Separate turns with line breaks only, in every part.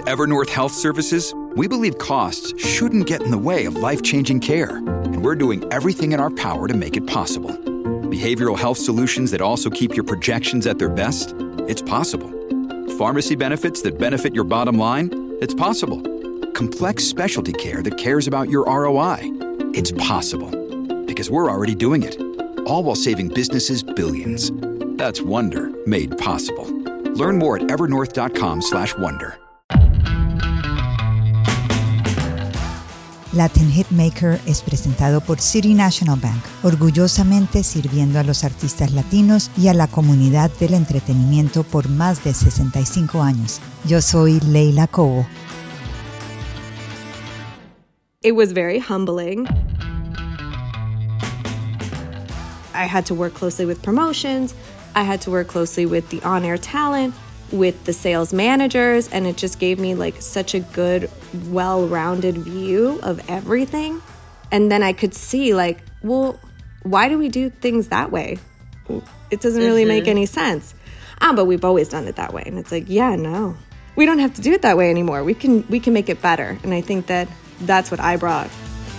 Evernorth Health Services, we believe costs shouldn't get in the way of life-changing care, and we're doing everything in our power to make it possible. Behavioral health solutions that also keep your projections at their best? It's possible. Pharmacy benefits that benefit your bottom line? It's possible. Complex specialty care that cares about your ROI? It's possible. Because we're already doing it. All while saving businesses billions. That's Wonder made possible. Learn more at evernorth.com/wonder.
Latin Hitmaker es presentado por City National Bank, orgullosamente sirviendo a los artistas latinos y a la comunidad del entretenimiento por más de 65 años. Yo soy Leila Cobo.
It was very humbling. I had to work closely with promotions. I had to work closely with the on-air talent, with the sales managers, and it just gave me like such a good, well-rounded view of everything. And then I could see like, well, why do we do things that way? It doesn't really make any sense. But we've always done it that way. And it's like, yeah, no, we don't have to do it that way anymore. We can make it better. And I think that that's what I brought.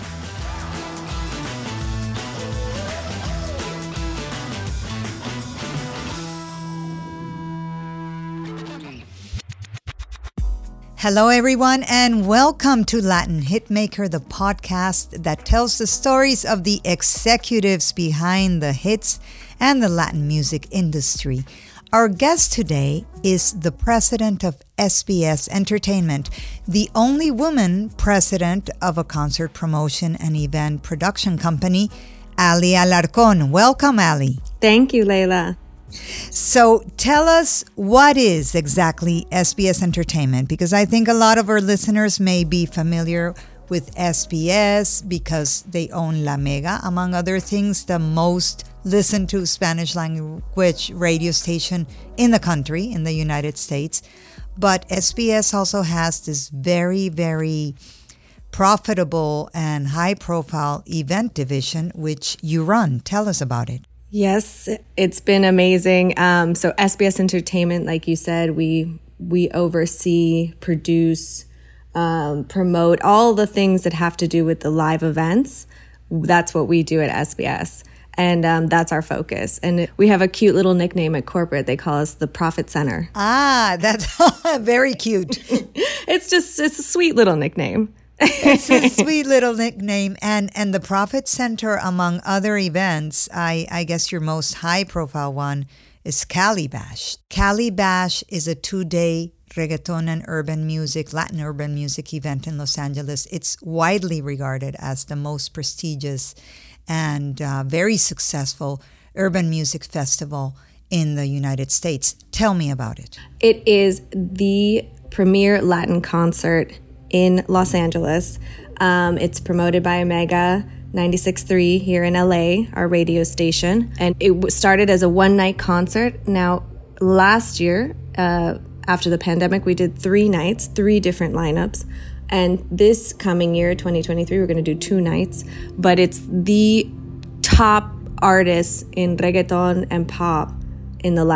Hello, everyone, and welcome to Latin Hitmaker, the podcast that tells the stories of the executives behind the hits and the Latin music industry. Our guest today is the president of SBS Entertainment, the only woman president of a concert promotion and event production company, Ali Alarcón. Welcome, Ali.
Thank you, Leila.
So tell us, what is exactly SBS Entertainment? Because I think a lot of our listeners may be familiar with SBS because they own La Mega, among other things, the most listened to Spanish language radio station in the country, in the United States. But SBS also has this very, very profitable and high-profile event division, which you run. Tell us about it.
Yes, it's been amazing. So SBS Entertainment, like you said, we oversee, produce, promote all the things that have to do with the live events. That's what we do at SBS. And that's our focus. And we have a cute little nickname at corporate. They call us the Profit Center.
Ah, that's very cute.
It's a sweet little nickname.
It's a sweet little nickname. And the Profit Center, among other events, I guess your most high-profile one is Cali Bash. Cali Bash is a 2-day reggaeton and Latin urban music event in Los Angeles. It's widely regarded as the most prestigious and very successful urban music festival in the United States. Tell me about it.
It is the premier Latin concert in Los Angeles. It's promoted by Omega 96.3 here in LA, our radio station. And it started as a one-night concert. Now, last year, after the pandemic, we did 3 nights, 3 different lineups. And this coming year, 2023, we're going to do 2 nights. But it's the top artists in reggaeton and pop in the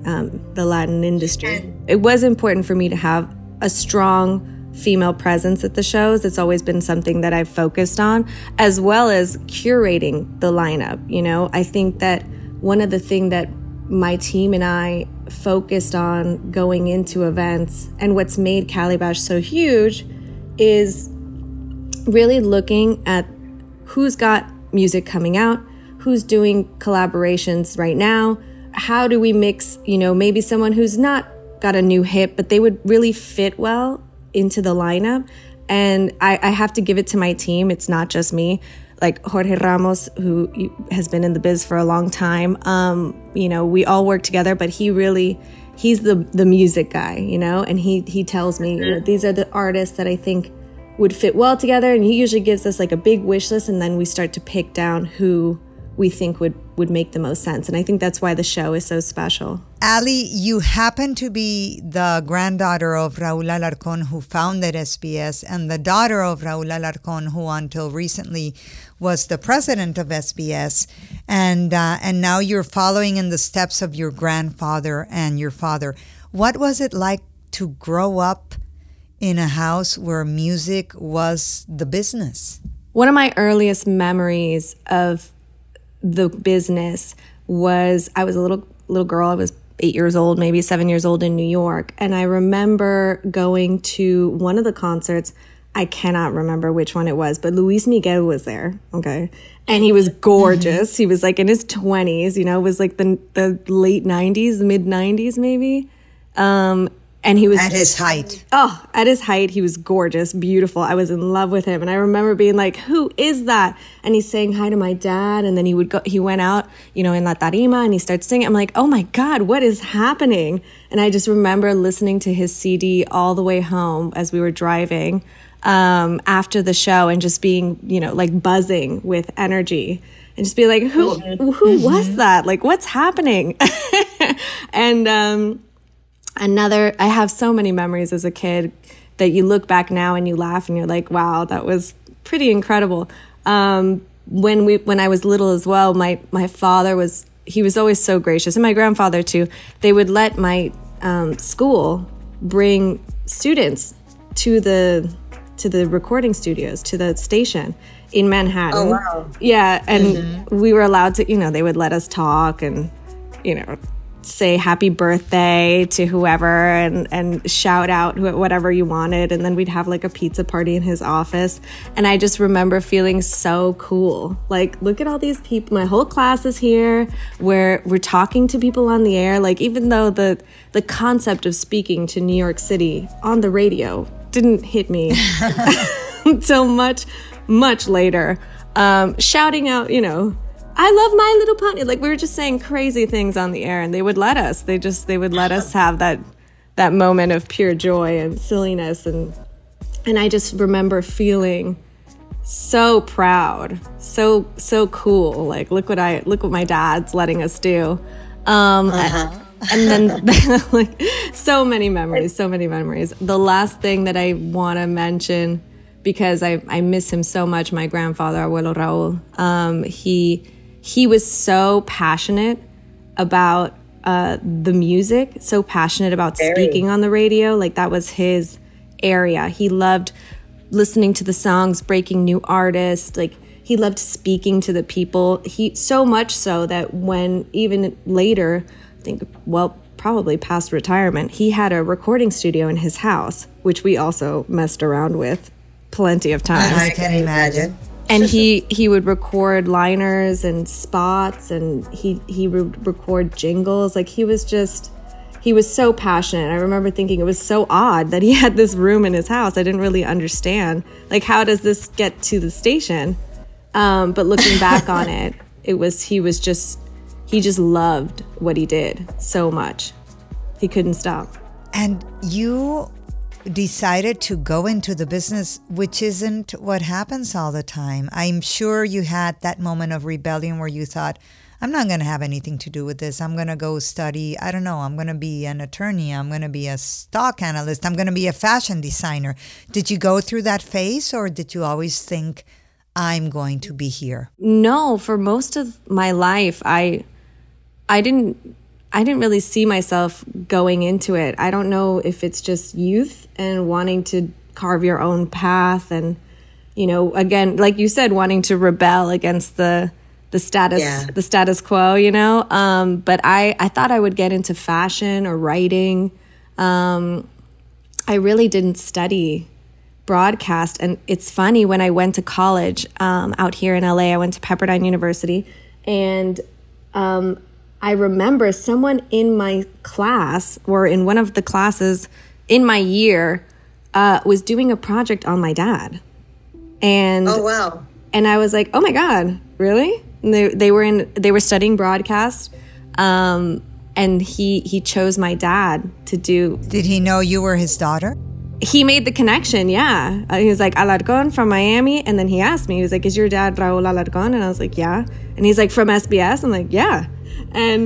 Latin industry. It was important for me to have a strong female presence at the shows. It's always been something that I've focused on, as well as curating the lineup. You know, I think that one of the things that my team and I focused on going into events, and what's made Cali Bash so huge, is really looking at who's got music coming out, who's doing collaborations right now, how do we mix, maybe someone who's not got a new hit, but they would really fit well into the lineup. And I have to give it to my team. It's not just me. Like Jorge Ramos, who has been in the biz for a long time, we all work together, but he's the music guy, and he tells me, these are the artists that I think would fit well together. And he usually gives us like a big wish list, and then we start to pick down who we think would make the most sense. And I think that's why the show is so special.
Ali, you happen to be the granddaughter of Raúl Alarcón, who founded SBS, and the daughter of Raúl Alarcón, who until recently was the president of SBS. And now you're following in the steps of your grandfather and your father. What was it like to grow up in a house where music was the business?
One of my earliest memories of the business was I was a little girl. I was 8 years old, maybe 7 years old in New York. And I remember going to one of the concerts. I cannot remember which one it was, but Luis Miguel was there. Okay. And he was gorgeous. He was like in his 20s, you know, it was like the late 90s, mid 90s maybe. And he was
at his height.
Oh, at his height, he was gorgeous, beautiful. I was in love with him. And I remember being like, who is that? And he's saying hi to my dad. And then he went out, you know, in La Tarima and he starts singing. I'm like, oh my God, what is happening? And I just remember listening to his CD all the way home as we were driving after the show and just being, you know, like buzzing with energy and just be like, who was that? Like, what's happening? And, I have so many memories as a kid that you look back now and you laugh and you're like, wow, that was pretty incredible. When I was little as well, my father was always so gracious, and my grandfather too. They would let my school bring students to the recording studios, to the station in Manhattan.
Oh, wow.
Yeah, and we were allowed to, you know, they would let us talk and, you know, say happy birthday to whoever and shout out whatever you wanted. And then we'd have like a pizza party in his office. And I just remember feeling so cool. Like, look at all these people. My whole class is here. We're talking to people on the air. Like, even though the concept of speaking to New York City on the radio didn't hit me until much, much later. Shouting out, you know, I love My Little Pony. Like, we were just saying crazy things on the air and they would let us. They would let us have that moment of pure joy and silliness. And I just remember feeling so proud, so cool. Like, look what my dad's letting us do. And then like so many memories. The last thing that I want to mention, because I miss him so much, my grandfather, Abuelo Raul, he was so passionate about the music, so passionate about speaking on the radio. Like, that was his area. He loved listening to the songs, breaking new artists. Like, he loved speaking to the people. He so much so that when even later, I think, well, probably past retirement, he had a recording studio in his house, which we also messed around with plenty of times.
I can imagine.
And he would record liners and spots, and he would record jingles. Like, he was so passionate. I remember thinking it was so odd that he had this room in his house. I didn't really understand, like, how does this get to the station? But looking back on it, he just loved what he did so much. He couldn't stop.
And you decided to go into the business, which isn't what happens all the time. I'm sure you had that moment of rebellion where you thought, I'm not going to have anything to do with this. I'm going to go study, I don't know, I'm going to be an attorney. I'm going to be a stock analyst. I'm going to be a fashion designer. Did you go through that phase, or did you always think, I'm going to be here?
No, for most of my life, I didn't really see myself going into it. I don't know if it's just youth and wanting to carve your own path and, you know, again, like you said, wanting to rebel against the status quo, you know. But I thought I would get into fashion or writing. I really didn't study broadcast. And it's funny, when I went to college out here in LA, I went to Pepperdine University, and I remember someone in my class, or in one of the classes in my year, was doing a project on my dad. And
oh, wow.
And I was like, oh my God, really? And they were studying broadcast. And he chose my dad to do.
Did he know you were his daughter?
He made the connection, yeah. He was like, Alarcon from Miami. And then he asked me, he was like, is your dad Raul Alarcon? And I was like, yeah. And he's like, from SBS? I'm like, yeah. And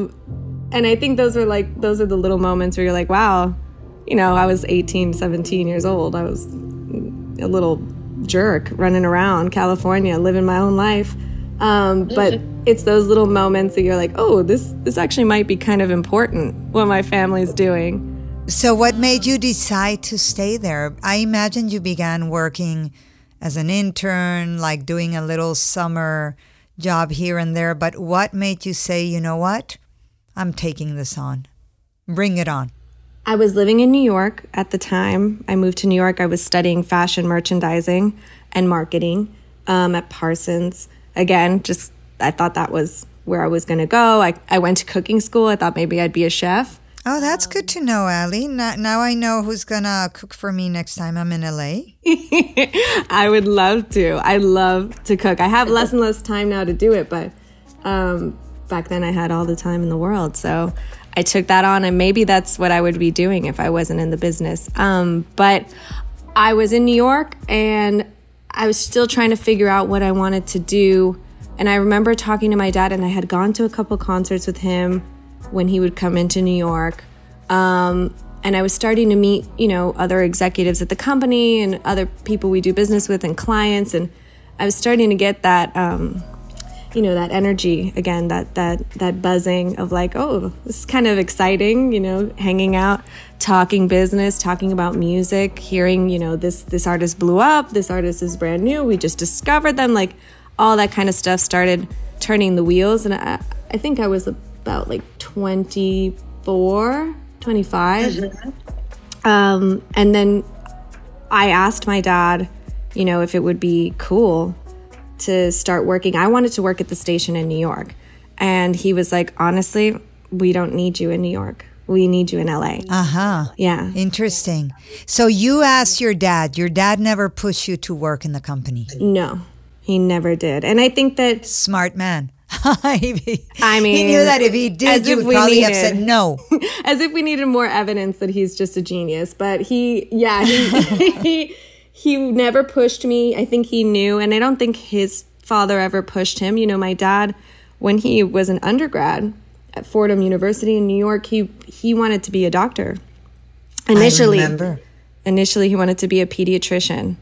I think those are the little moments where you're like, wow, you know, I was 18, 17 years old. I was a little jerk running around California, living my own life. But it's those little moments that you're like, oh, this actually might be kind of important, what my family's doing.
So what made you decide to stay there? I imagine you began working as an intern, like doing a little summer job here and there. But what made you say, you know what? I'm taking this on. Bring it on.
I was living in New York at the time. I moved to New York. I was studying fashion merchandising and marketing at Parsons. Again, just I thought that was where I was going to go. I went to cooking school. I thought maybe I'd be a chef.
Oh, that's good to know, Ali. Now I know who's going to cook for me next time I'm in LA.
I would love to. I love to cook. I have less and less time now to do it, but back then I had all the time in the world. So I took that on, and maybe that's what I would be doing if I wasn't in the business. But I was in New York, and I was still trying to figure out what I wanted to do. And I remember talking to my dad, and I had gone to a couple concerts with him when he would come into New York. And I was starting to meet, other executives at the company and other people we do business with and clients. And I was starting to get that, that energy again, that buzzing of like, oh, this is kind of exciting, hanging out, talking business, talking about music, hearing, this artist blew up, this artist is brand new, we just discovered them, like all that kind of stuff started turning the wheels. And I think I was about like 24, 25. And then I asked my dad, if it would be cool to start working. I wanted to work at the station in New York. And he was like, honestly, we don't need you in New York. We need you in LA.
Uh-huh.
Yeah.
Interesting. So you asked your dad. Your dad never pushed you to work in the company?
No, he never did. And I think that...
Smart man.
He
knew that if he did, you would probably have said no.
As if we needed more evidence that he's just a genius. But he never pushed me. I think he knew, and I don't think his father ever pushed him. My dad, when he was an undergrad at Fordham University in New York, he wanted to be a doctor. Initially,
I remember.
Initially, he wanted to be a pediatrician.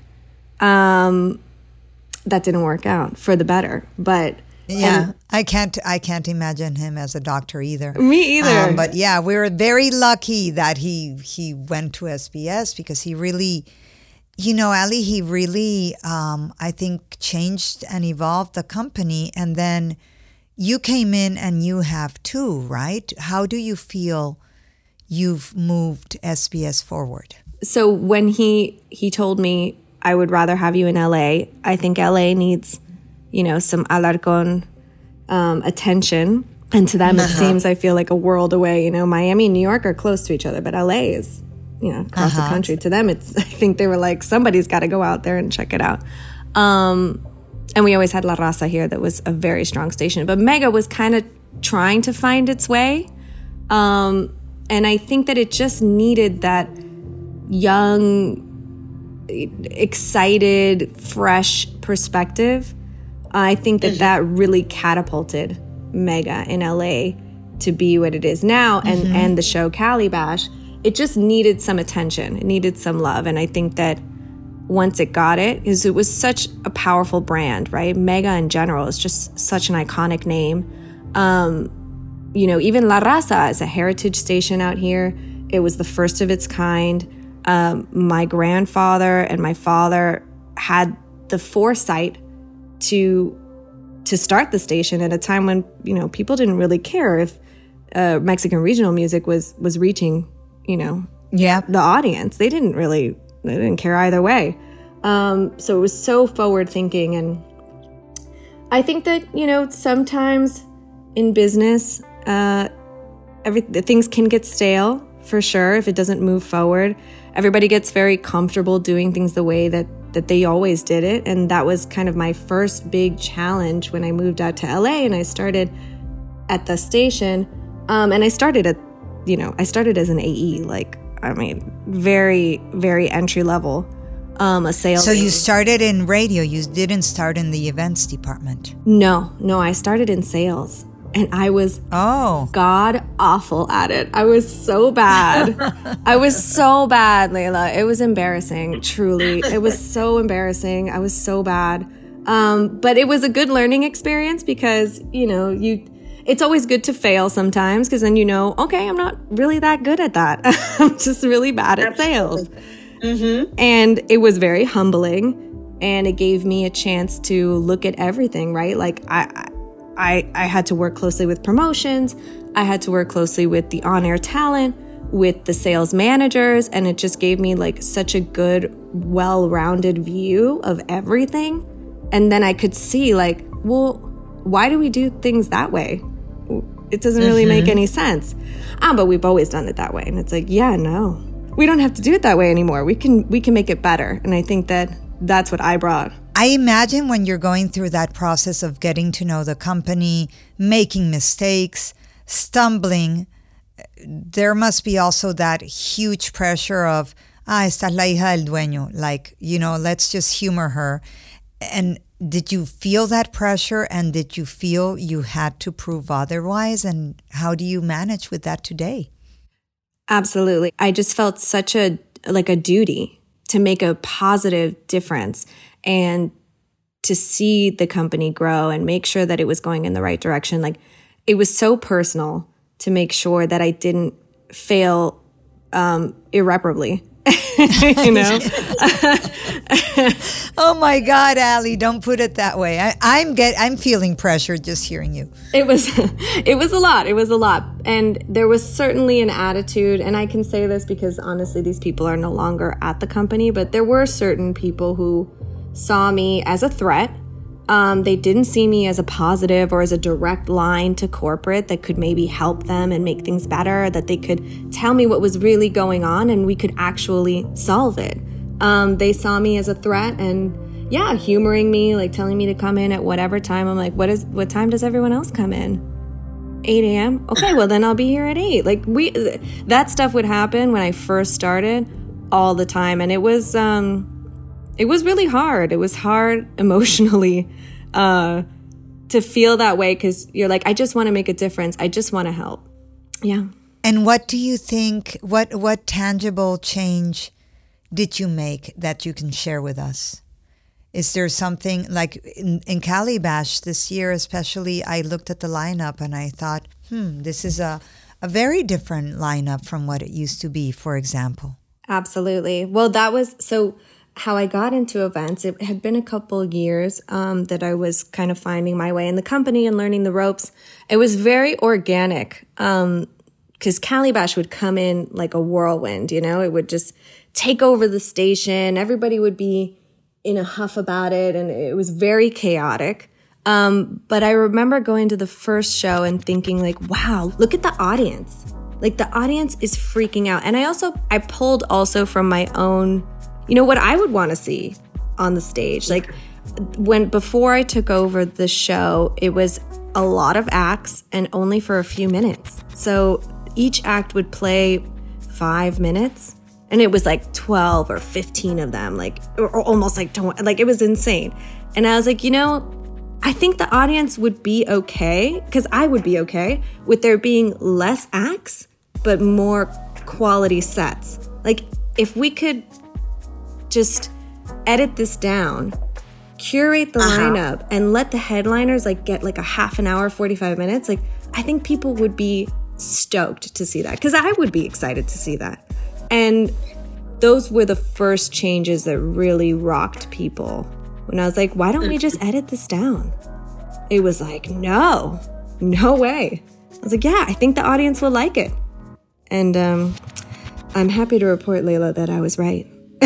That didn't work out for the better, but...
Yeah, I can't imagine him as a doctor either.
Me either.
But yeah, we were very lucky that he went to SBS because he really, Ali, he really, I think, changed and evolved the company. And then you came in and you have too, right? How do you feel you've moved SBS forward?
So when he told me, I would rather have you in LA, I think LA needs... some Alarcón attention. And to them, it seems, I feel like a world away. Miami and New York are close to each other, but LA is, across the country. To them, I think they were like, somebody's got to go out there and check it out. And we always had La Raza here that was a very strong station. But Mega was kind of trying to find its way. And I think that it just needed that young, excited, fresh perspective. I think that really catapulted Mega in LA to be what it is now, and the show Calibash. It just needed some attention. It needed some love. And I think that once it got it was such a powerful brand, right? Mega in general is just such an iconic name. Even La Raza is a heritage station out here. It was the first of its kind. My grandfather and my father had the foresight to start the station at a time when people didn't really care if Mexican regional music was reaching the audience. They didn't care either way. So it was so forward thinking, and I think that sometimes in business things can get stale for sure if it doesn't move forward. Everybody gets very comfortable doing things the way that they always did it. And that was kind of my first big challenge when I moved out to LA and I started at the station. And I started as an AE, very, very entry level, a sales.
So you started in radio. You didn't start in the events department.
No, I started in sales. And I was god awful at it. I was so bad. Layla. It was embarrassing, truly. It was so embarrassing. I was so bad. But it was a good learning experience because, it's always good to fail sometimes because then okay, I'm not really that good at that. I'm just really bad at sales. Mm-hmm. And it was very humbling. And it gave me a chance to look at everything, right? Like I had to work closely with promotions. I had to work closely with the on-air talent, with the sales managers. And it just gave me like such a good, well-rounded view of everything. And then I could see like, well, why do we do things that way? It doesn't really make any sense. But we've always done it that way. And it's like, yeah, no, we don't have to do it that way anymore. We can make it better. And I think that's what I brought.
I imagine when you're going through that process of getting to know the company, making mistakes, stumbling, there must be also that huge pressure of, esta es la hija del dueño. Like, let's just humor her. And did you feel that pressure? And did you feel you had to prove otherwise? And how do you manage with that today?
Absolutely. I just felt such a duty to make a positive difference and to see the company grow and make sure that it was going in the right direction. Like, it was so personal to make sure that I didn't fail irreparably.
Oh my God, Ali, don't put it that way. I'm feeling pressure just hearing you.
It was a lot. It was a lot. And there was certainly an attitude, and I can say this because honestly, these people are no longer at the company, but there were certain people who saw me as a threat. They didn't see me as a positive or as a direct line to corporate that could maybe help them and make things better, that they could tell me what was really going on and we could actually solve it. They saw me as a threat and humoring me, like telling me to come in at whatever time. I'm like, what time does everyone else come in? 8 a.m.? Okay, well then I'll be here at 8. Like that stuff would happen when I first started all the time. And it was really hard. It was hard emotionally to feel that way because you're like, I just want to make a difference. I just want to help. Yeah.
And what do you think, what tangible change did you make that you can share with us? Is there something like in Cali Bash this year, especially, I looked at the lineup and I thought, this is a very different lineup from what it used to be, for example.
Absolutely. Well, that was so how I got into events. It had been a couple years that I was kind of finding my way in the company and learning the ropes. It was very organic because Cali Bash would come in like a whirlwind, it would just take over the station. Everybody would be in a huff about it, and it was very chaotic. But I remember going to the first show and thinking like, wow, look at the audience. Like the audience is freaking out. And I pulled also from my own, what I would want to see on the stage. Like before I took over the show, it was a lot of acts and only for a few minutes. So each act would play 5 minutes. And it was like 12 or 15 of them, or almost like 20, like it was insane. And I was like, I think the audience would be okay, because I would be okay with there being less acts, but more quality sets. Like if we could just edit this down, curate the lineup, and let the headliners get like a half an hour, 45 minutes, I think people would be stoked to see that, because I would be excited to see that. And those were the first changes that really rocked people. When I was like, why don't we just edit this down? It was like, no way. I was like, yeah, I think the audience will like it. And I'm happy to report, Layla, that I was right.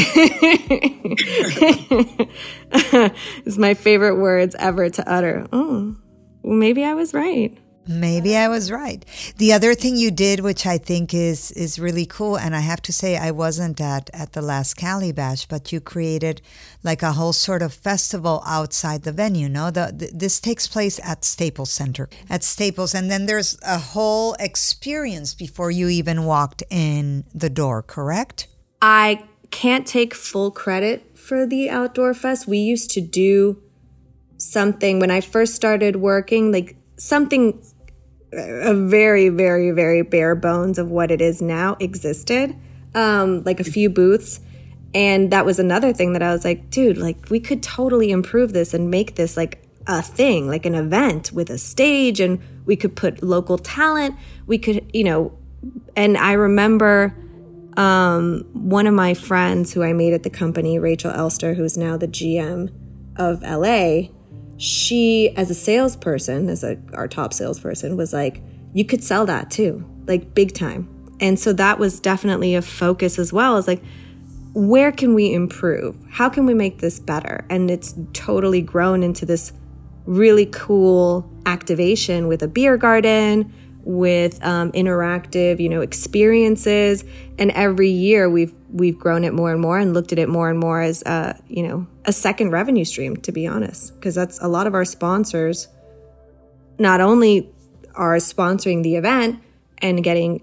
It's my favorite words ever to utter. Oh, well, maybe I was right.
Maybe I was right. The other thing you did, which I think is really cool, and I have to say I wasn't at the last Cali Bash, but you created like a whole sort of festival outside the venue, no? This takes place at Staples Center, at Staples, and then there's a whole experience before you even walked in the door, correct?
I can't take full credit for the Outdoor Fest. We used to do something when I first started working, like something a very, very, very bare bones of what it is now existed, like a few booths. And that was another thing that I was like, dude, like we could totally improve this and make this like a thing, like an event with a stage, and we could put local talent. We could, and I remember one of my friends who I made at the company, Rachel Elster, who's now the GM of LA, she, as a salesperson, our top salesperson, was like, you could sell that too, like big time. And so that was definitely a focus as well, is like, where can we improve? How can we make this better? And it's totally grown into this really cool activation with a beer garden, with interactive, experiences. And every year we've grown it more and more and looked at it more and more as, a second revenue stream, to be honest, because that's a lot of our sponsors not only are sponsoring the event and getting,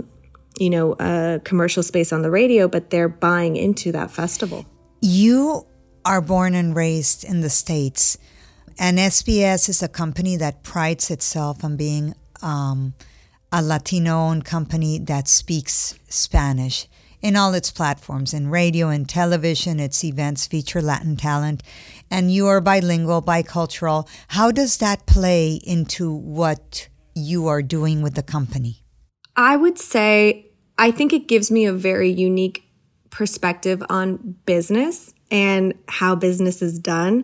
a commercial space on the radio, but they're buying into that festival.
You are born and raised in the States, and SBS is a company that prides itself on being a Latino-owned company that speaks Spanish in all its platforms, in radio and television. Its events feature Latin talent, and you are bilingual, bicultural. How does that play into what you are doing with the company?
I would say, I think it gives me a very unique perspective on business and how business is done.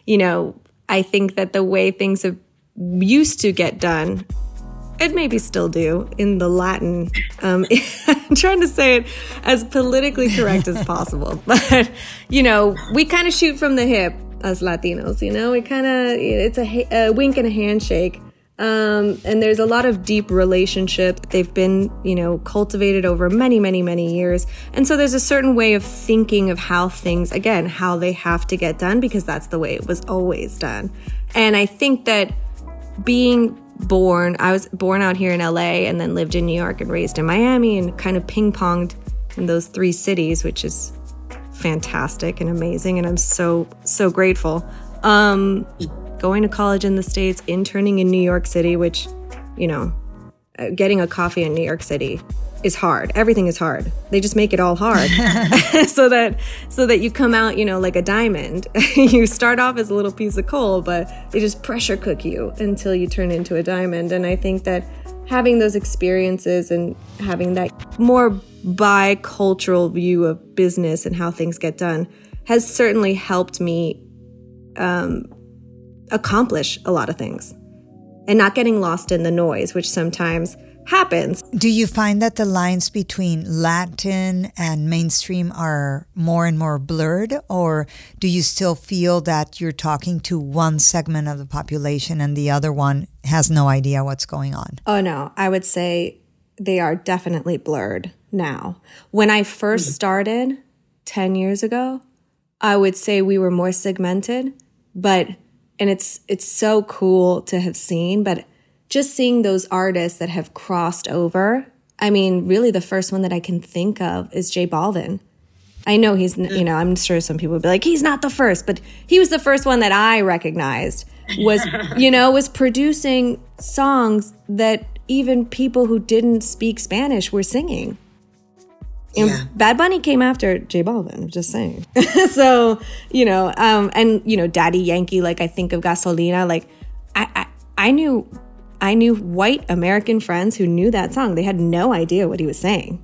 I think that the way things have used to get done, and maybe still do, in the Latin, I'm trying to say it as politically correct as possible, but, we kind of shoot from the hip as Latinos, we kind of, it's a wink and a handshake. And there's a lot of deep relationships. They've been, cultivated over many, many, many years. And so there's a certain way of thinking of how things, again, how they have to get done, because that's the way it was always done. And I think that I was born out here in LA and then lived in New York and raised in Miami and kind of ping-ponged in those three cities, which is fantastic and amazing. And I'm so, so grateful. Going to college in the States, interning in New York City, which, getting a coffee in New York City is hard. Everything is hard. They just make it all hard so that you come out, like a diamond. You start off as a little piece of coal, but they just pressure cook you until you turn into a diamond. And I think that having those experiences and having that more bicultural view of business and how things get done has certainly helped me accomplish a lot of things and not getting lost in the noise, which sometimes happens.
Do you find that the lines between Latin and mainstream are more and more blurred, or do you still feel that you're talking to one segment of the population and the other one has no idea what's going on?
Oh, no. I would say they are definitely blurred now. When I first started 10 years ago, I would say we were more segmented, and it's so cool to have seen, but just seeing those artists that have crossed over. I mean, really the first one that I can think of is J Balvin. I know he's, I'm sure some people would be like, he's not the first, but he was the first one that I recognized was producing songs that even people who didn't speak Spanish were singing. And Bad Bunny came after J Balvin, I'm just saying. So, Daddy Yankee, like I think of Gasolina, like I knew white American friends who knew that song. They had no idea what he was saying.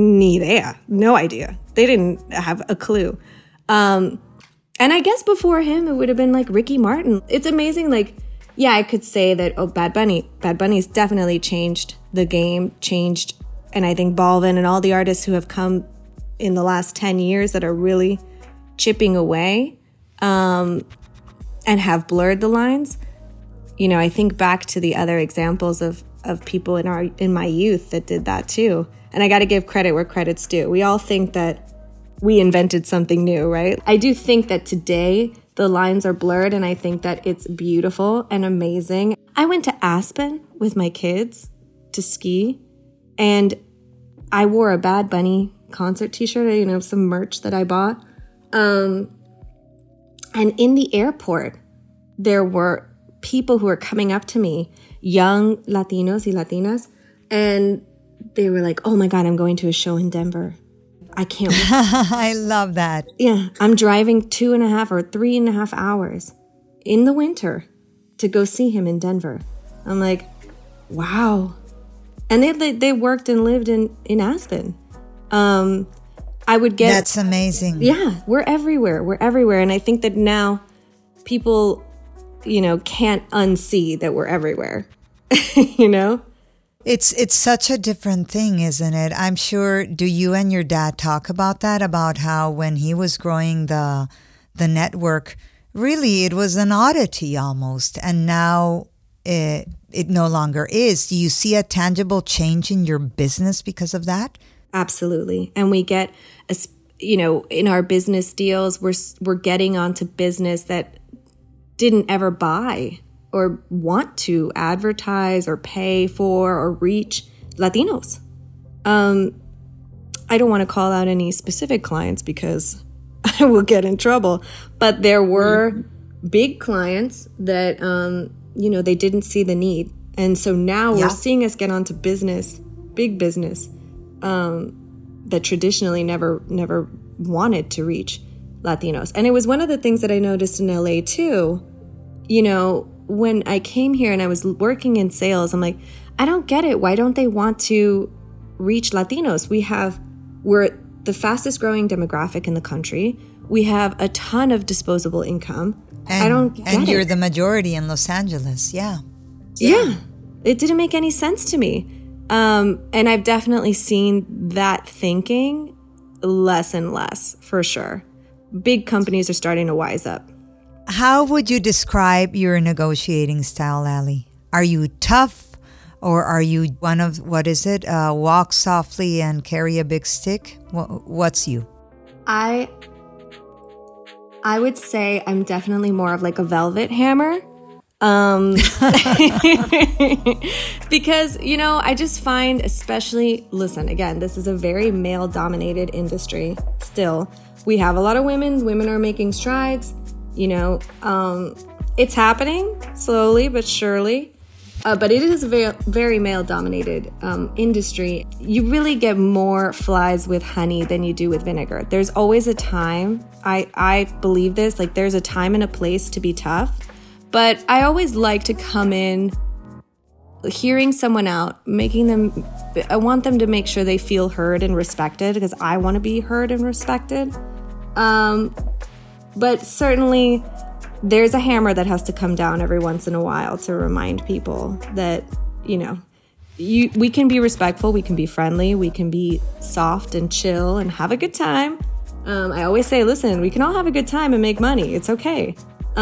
No idea. They didn't have a clue. And I guess before him, it would have been like Ricky Martin. It's amazing. Like, I could say that, Bad Bunny's definitely changed the game, and I think Balvin and all the artists who have come in the last 10 years that are really chipping away and have blurred the lines. I think back to the other examples of people in my youth that did that too. And I got to give credit where credit's due. We all think that we invented something new, right? I do think that today the lines are blurred, and I think that it's beautiful and amazing. I went to Aspen with my kids to ski, and I wore a Bad Bunny concert t-shirt, some merch that I bought. And in the airport, there were people who were coming up to me, young Latinos y Latinas, and they were like, oh my God, I'm going to a show in Denver. I can't wait.
I love that.
Yeah, I'm driving 2.5 or 3.5 hours in the winter to go see him in Denver. I'm like, wow. And they worked and lived in Aspen. I would get...
That's amazing.
Yeah, we're everywhere. We're everywhere. And I think that now people, can't unsee that we're everywhere,
It's such a different thing, isn't it? I'm sure, do you and your dad talk about that? About how when he was growing the network, really it was an oddity almost. And now it no longer is. Do you see a tangible change in your business because of that?
Absolutely. And we get, in our business deals, we're getting onto business that didn't ever buy or want to advertise or pay for or reach Latinos. I don't want to call out any specific clients because I will get in trouble, but there were big clients that, they didn't see the need. And so now we're seeing us get onto business, big business, that traditionally never wanted to reach Latinos. And it was one of the things that I noticed in LA too. When I came here and I was working in sales, I'm like, I don't get it. Why don't they want to reach Latinos? We're the fastest growing demographic in the country. We have a ton of disposable income. I don't get it.
And you're the majority in Los Angeles. Yeah.
Yeah. It didn't make any sense to me. And I've definitely seen that thinking less and less, for sure. Big companies are starting to wise up.
How would you describe your negotiating style, Ali? Are you tough, or are you one of, walk softly and carry a big stick? What's you?
I would say I'm definitely more of like a velvet hammer. Because, I just find, especially, listen, again, this is a very male-dominated industry still. We have a lot of women. Women are making strides. It's happening slowly but surely. But it is a very, very male-dominated industry. You really get more flies with honey than you do with vinegar. There's always a time. I believe this. Like, there's a time and a place to be tough. But I always like to come in, hearing someone out, I want them to make sure they feel heard and respected, because I want to be heard and respected. But certainly there's a hammer that has to come down every once in a while to remind people that, we can be respectful, we can be friendly, we can be soft and chill and have a good time. I always say, listen, we can all have a good time and make money. It's okay.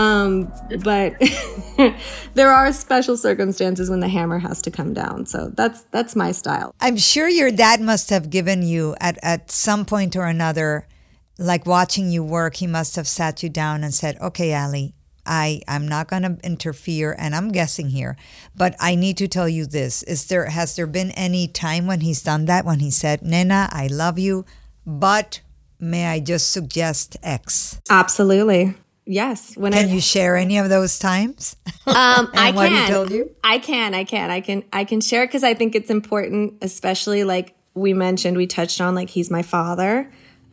But there are special circumstances when the hammer has to come down. So that's my style.
I'm sure your dad must have given you at some point or another, like watching you work, he must have sat you down and said, okay, Ali, I'm not going to interfere, and I'm guessing here, but I need to tell you this. Has there been any time when he's done that, when he said, Nena, I love you, but may I just suggest X?
Absolutely. Yes.
Can you share any of those times?
I
what
can.
he told you?
I can share, because I think it's important, especially like we touched on, like, he's my father.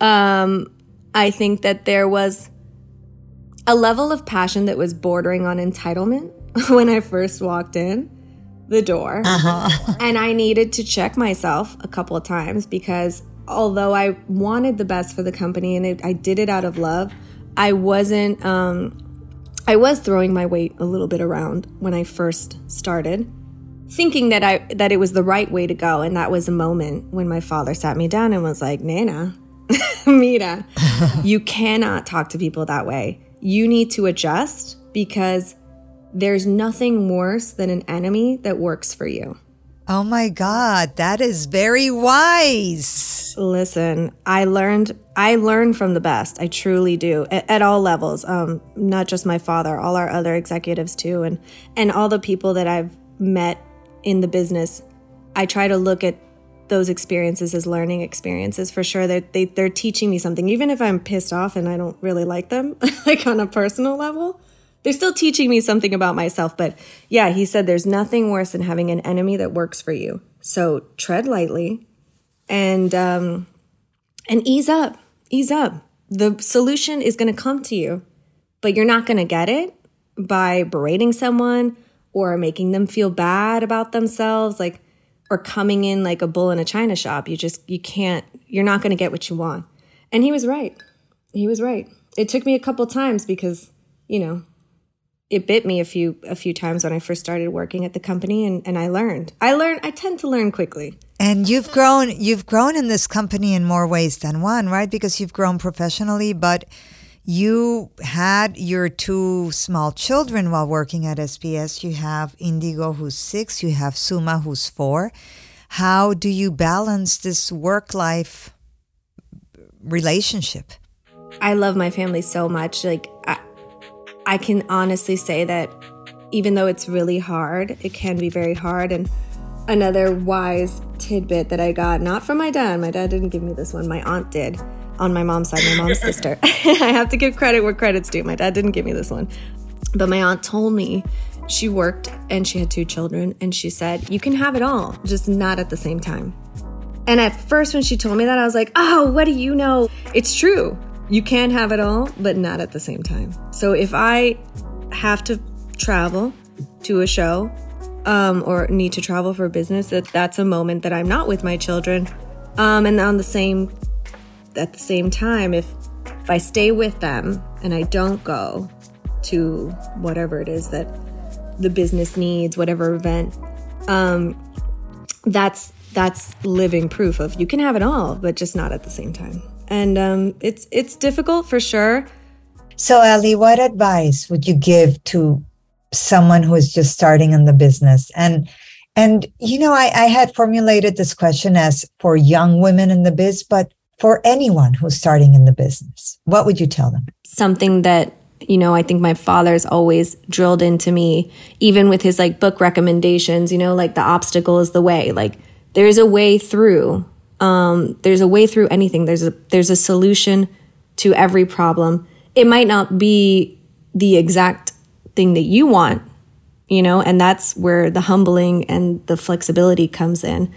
I think that there was a level of passion that was bordering on entitlement when I first walked in the door. Uh-huh. And I needed to check myself a couple of times, because although I wanted the best for the company and I did it out of love, I was throwing my weight a little bit around when I first started, thinking that it was the right way to go. And that was a moment when my father sat me down and was like, Nena, Mira, you cannot talk to people that way. You need to adjust, because there's nothing worse than an enemy that works for you.
Oh my God, that is very wise.
Listen, I learned from the best. I truly do, at all levels. Not just my father, all our other executives too, and all the people that I've met in the business. I try to look at those experiences as learning experiences, for sure. They're teaching me something, even if I'm pissed off and I don't really like them, like on a personal level. They're still teaching me something about myself. But yeah, he said there's nothing worse than having an enemy that works for you. So tread lightly and ease up. Ease up. The solution is going to come to you, but you're not going to get it by berating someone or making them feel bad about themselves, like, or coming in like a bull in a china shop. You're not going to get what you want. And he was right. He was right. It took me a couple times because, it bit me a few times when I first started working at the company, and I learned. I tend to learn quickly.
And you've grown in this company in more ways than one, right? Because you've grown professionally, but you had your 2 small children while working at SBS. You have Indigo, who's 6. You have Suma, who's 4. How do you balance this work-life relationship?
I love my family so much. Like, I can honestly say that even though it's really hard, it can be very hard. And another wise tidbit that I got, not from my dad didn't give me this one, my aunt did, on my mom's side, my mom's sister. I have to give credit where credit's due. My dad didn't give me this one. But my aunt told me she worked and she had 2 children, and she said, you can have it all, just not at the same time. And at first when she told me that, I was like, oh, what do you know? It's true. You can have it all, but not at the same time. So if I have to travel to a show or need to travel for business, that's a moment that I'm not with my children. And at the same time, if I stay with them and I don't go to whatever it is that the business needs, whatever event, that's living proof of you can have it all, but just not at the same time. And it's difficult for sure.
So, Ellie, what advice would you give to someone who is just starting in the business? And I had formulated this question as for young women in the biz, but for anyone who's starting in the business, what would you tell them?
Something that, I think my father's always drilled into me, even with his like book recommendations, like the obstacle is the way. Like, there's a way through. There's a way through anything. There's a solution to every problem. It might not be the exact thing that you want, and that's where the humbling and the flexibility comes in.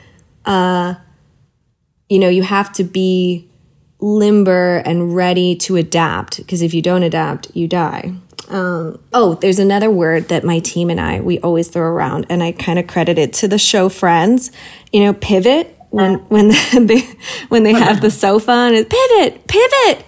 You have to be limber and ready to adapt, because if you don't adapt, you die. There's another word that my team and we always throw around, and I kind of credit it to the show Friends, pivot. When they have the sofa and it's pivot.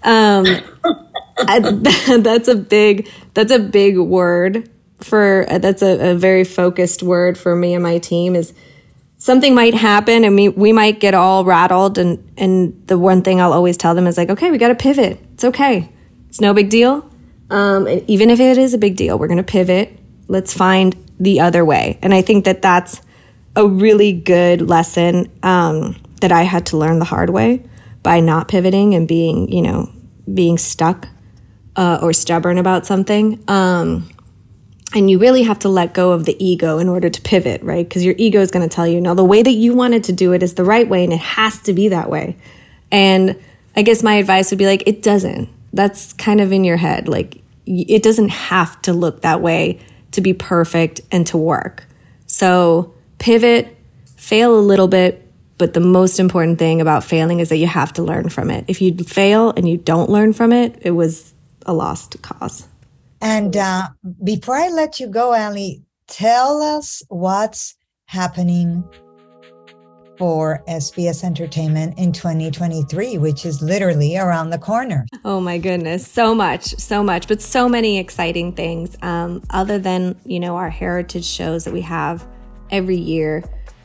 That's a big word that's a very focused word for me and my team. Is something might happen and we might get all rattled, and the one thing I'll always tell them is like, okay, we got to pivot. It's okay. It's no big deal. Even if it is a big deal, we're going to pivot. Let's find the other way. And I think that that's a really good lesson that I had to learn the hard way by not pivoting and being stuck or stubborn about something. And you really have to let go of the ego in order to pivot, right? Because your ego is going to tell you, no, the way that you wanted to do it is the right way, and it has to be that way. And I guess my advice would be like, it doesn't. That's kind of in your head. Like, it doesn't have to look that way to be perfect and to work. So pivot, fail a little bit, but the most important thing about failing is that you have to learn from it. If you fail and you don't learn from it, it was a lost cause.
And before I let you go, Ellie, tell us what's happening for SBS Entertainment in 2023, which is literally around the corner.
Oh my goodness, so much, but so many exciting things. Other than, our heritage shows that we have every year,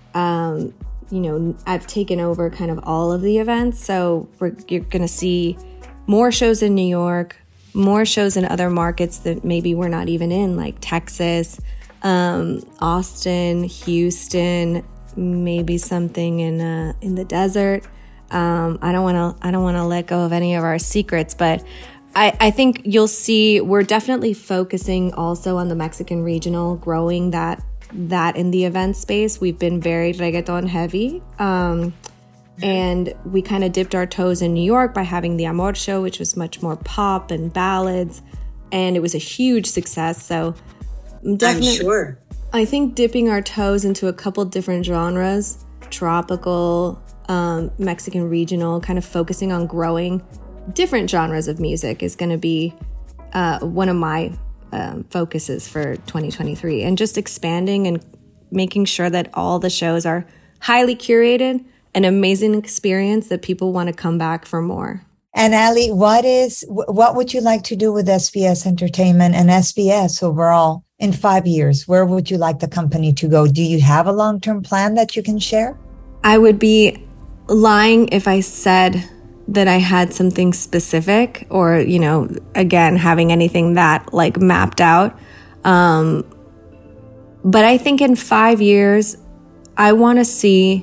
I've taken over kind of all of the events. So you're going to see more shows in New York, more shows in other markets that maybe we're not even in, like Texas, Austin, Houston, maybe something in the desert. I don't want to let go of any of our secrets, but I think you'll see we're definitely focusing also on the Mexican regional, growing that in the event space. We've been very reggaeton heavy. And we kind of dipped our toes in New York by having the Amor show, which was much more pop and ballads. And it was a huge success. So definitely, I'm sure. I think dipping our toes into a couple different genres, tropical, Mexican regional, kind of focusing on growing different genres of music is going to be one of my focuses for 2023, and just expanding and making sure that all the shows are highly curated, an amazing experience that people want to come back for more.
And Ali, what would you like to do with SBS Entertainment and SBS overall in 5 years? Where would you like the company to go? Do you have a long-term plan that you can share?
I would be lying if I said that I had something specific or, again, having anything that like mapped out. But I think in 5 years, I want to see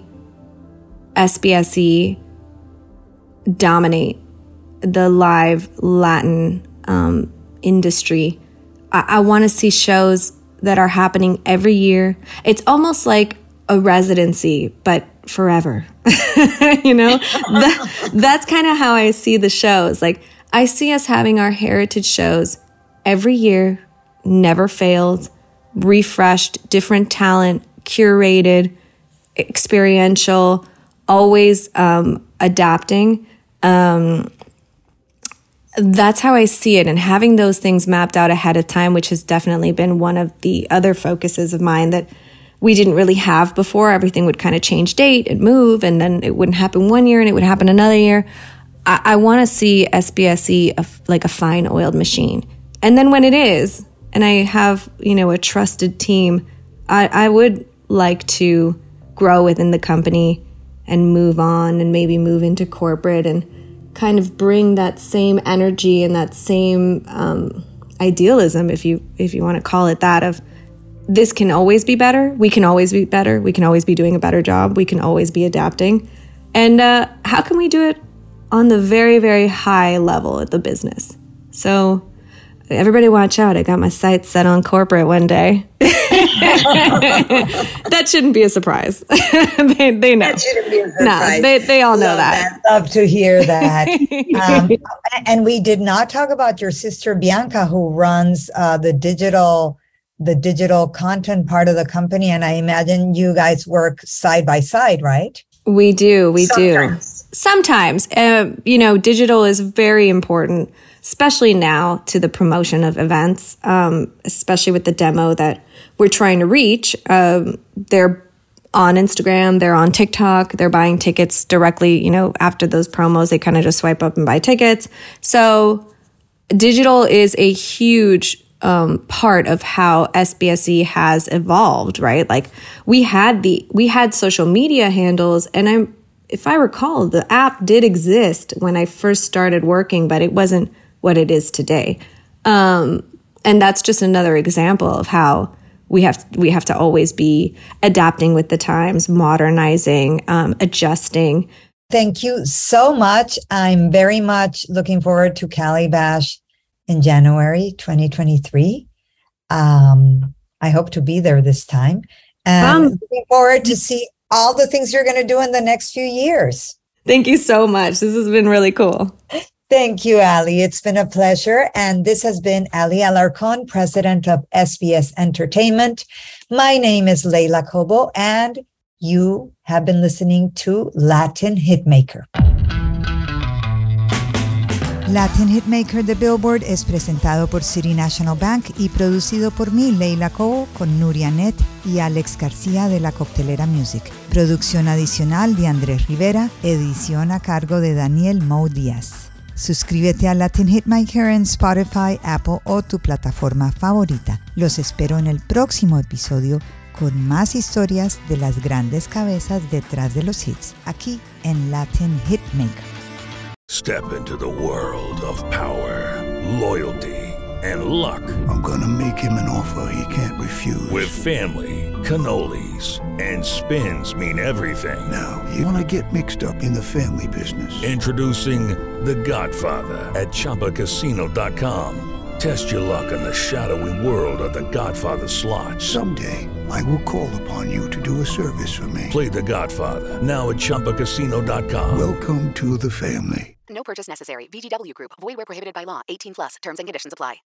SBSE dominate the live Latin industry. I want to see shows that are happening every year. It's almost like a residency, but forever. That's kind of how I see the shows. Like, I see us having our heritage shows every year, never failed, refreshed, different talent, curated, experiential, always adapting. That's how I see it. And having those things mapped out ahead of time, which has definitely been one of the other focuses of mine that we didn't really have before. Everything would kind of change date and move, and then it wouldn't happen one year and it would happen another year. I want to see SBSE like a fine oiled machine. And then when it is, and I have, a trusted team, I would like to grow within the company and move on and maybe move into corporate and kind of bring that same energy and that same idealism, if you want to call it that, of this can always be better. We can always be better. We can always be doing a better job. We can always be adapting. And how can we do it on the very, very high level of the business? So everybody watch out. I got my sights set on corporate one day. That shouldn't be a surprise. They know. That shouldn't be a surprise. No, they all know that.
Love to hear that. And we did not talk about your sister, Bianca, who runs the digital content part of the company. And I imagine you guys work side by side, right?
We do. Sometimes, digital is very important, especially now to the promotion of events, especially with the demo that we're trying to reach. They're on Instagram, they're on TikTok, they're buying tickets directly, after those promos, they kind of just swipe up and buy tickets. So digital is a huge part of how SBSE has evolved, right? Like we had social media handles, and if I recall, the app did exist when I first started working, but it wasn't what it is today. And that's just another example of how we have to always be adapting with the times, modernizing, adjusting.
Thank you so much. I'm very much looking forward to Cali Bash in January 2023. I hope to be there this time. And looking forward to see all the things you're going to do in the next few years.
Thank you so much. This has been really cool.
Thank you, Ali. It's been a pleasure. And this has been Ali Alarcón, president of SBS Entertainment. My name is Leila Cobo, and you have been listening to Latin Hitmaker. Latin Hitmaker de Billboard es presentado por City National Bank y producido por mí, Leila Cobo, con Nuria Net y Alex García de la Coctelera Music. Producción adicional de Andrés Rivera, edición a cargo de Daniel Mo Díaz. Suscríbete a Latin Hitmaker en Spotify, Apple o tu plataforma favorita. Los espero en el próximo episodio con más historias de las grandes cabezas detrás de los hits, aquí en Latin Hitmaker.
Step into the world of power, loyalty, and luck.
I'm gonna make him an offer he can't refuse.
With family, cannolis, and spins mean everything.
Now, you wanna get mixed up in the family business.
Introducing The Godfather at ChumbaCasino.com. Test your luck in the shadowy world of The Godfather slot.
Someday, I will call upon you to do a service for me.
Play The Godfather, now at ChumbaCasino.com.
Welcome to the family.
No purchase necessary. VGW Group. Void where prohibited by law. 18+. Terms and conditions apply.